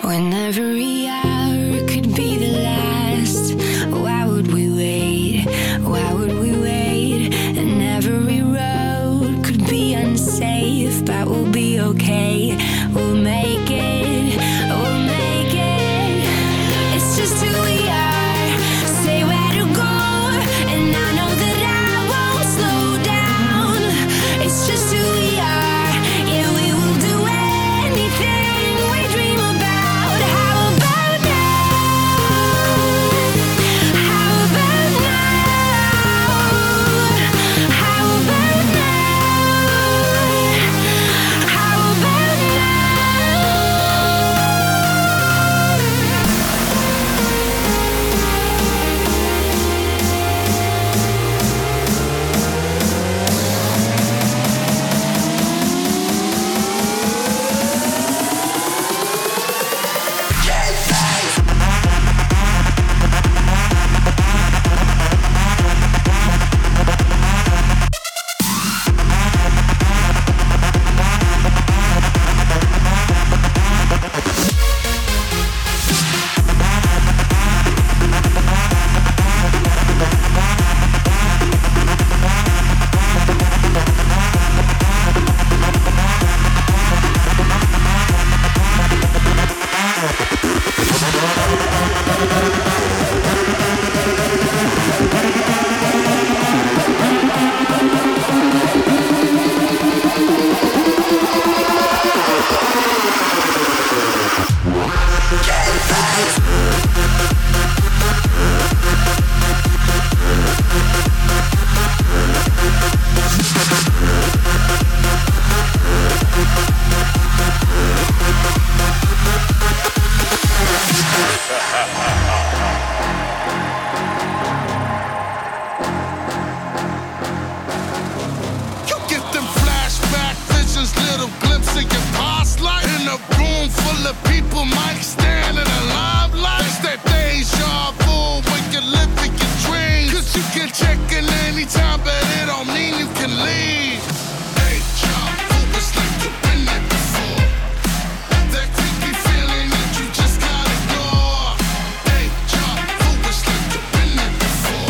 When every hour could be the last, why would we wait? Why would we wait? And every road could be unsafe, but we'll be okay. We'll make it. We'll make it. It's just who we are. Say where to go, and I know that I won't slow down. It's just who we are. Yeah, we will do anything we dream about. How about now? How about now? How about now? How about You get them flashback visions, little glimpse of your past life. In a room full of people, might stand in a limelight. It's that deja vu when you're living your dreams. 'Cause you can check in anytime, but it don't mean you can leave. Deja vu, it's like you've been there before. That creepy feeling that you just can't ignore. Deja vu, it's like you've been there before.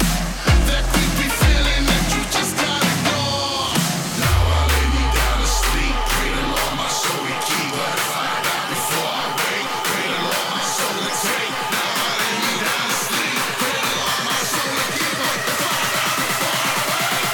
That creepy feeling that you just can't ignore. Now I lay me down to sleep. Pray the Lord my soul he keep. But if I die before I wake, pray the Lord my soul to take. Now I lay me down to sleep. Pray the Lord my soul to keep. But if I die before I wake.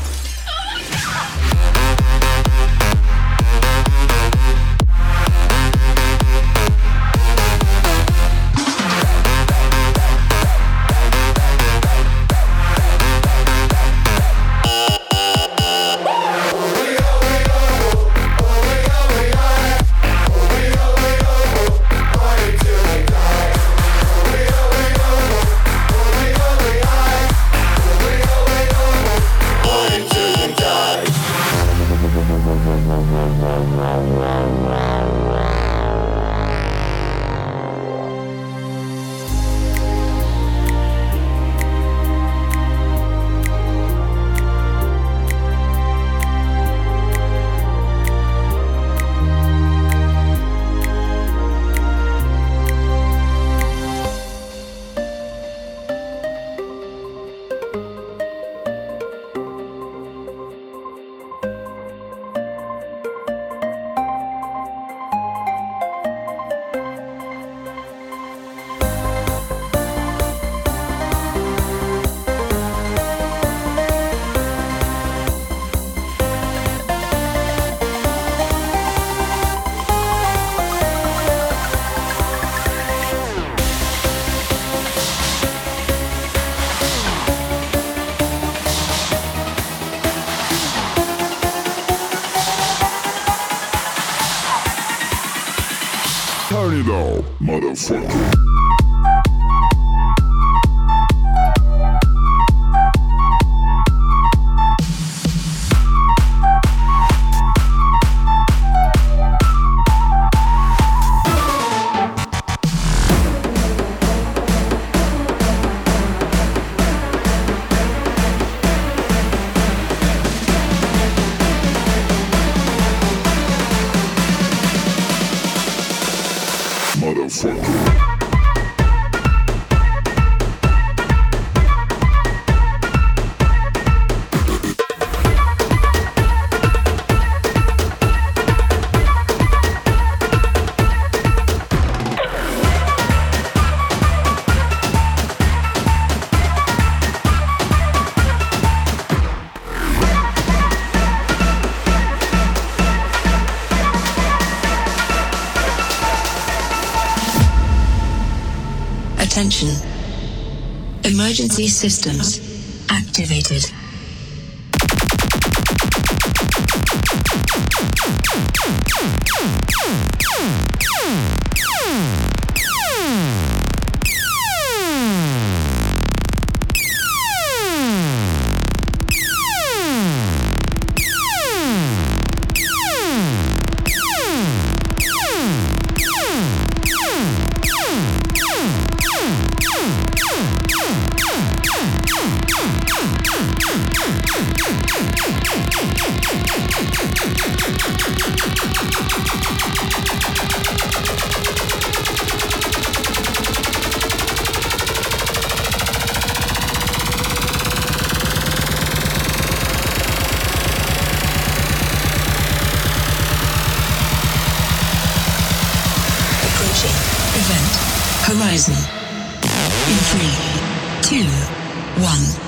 Turn it up, motherfucker. motherfucker. Attention. Emergency systems activated. Event Horizon in 3, 2, 1.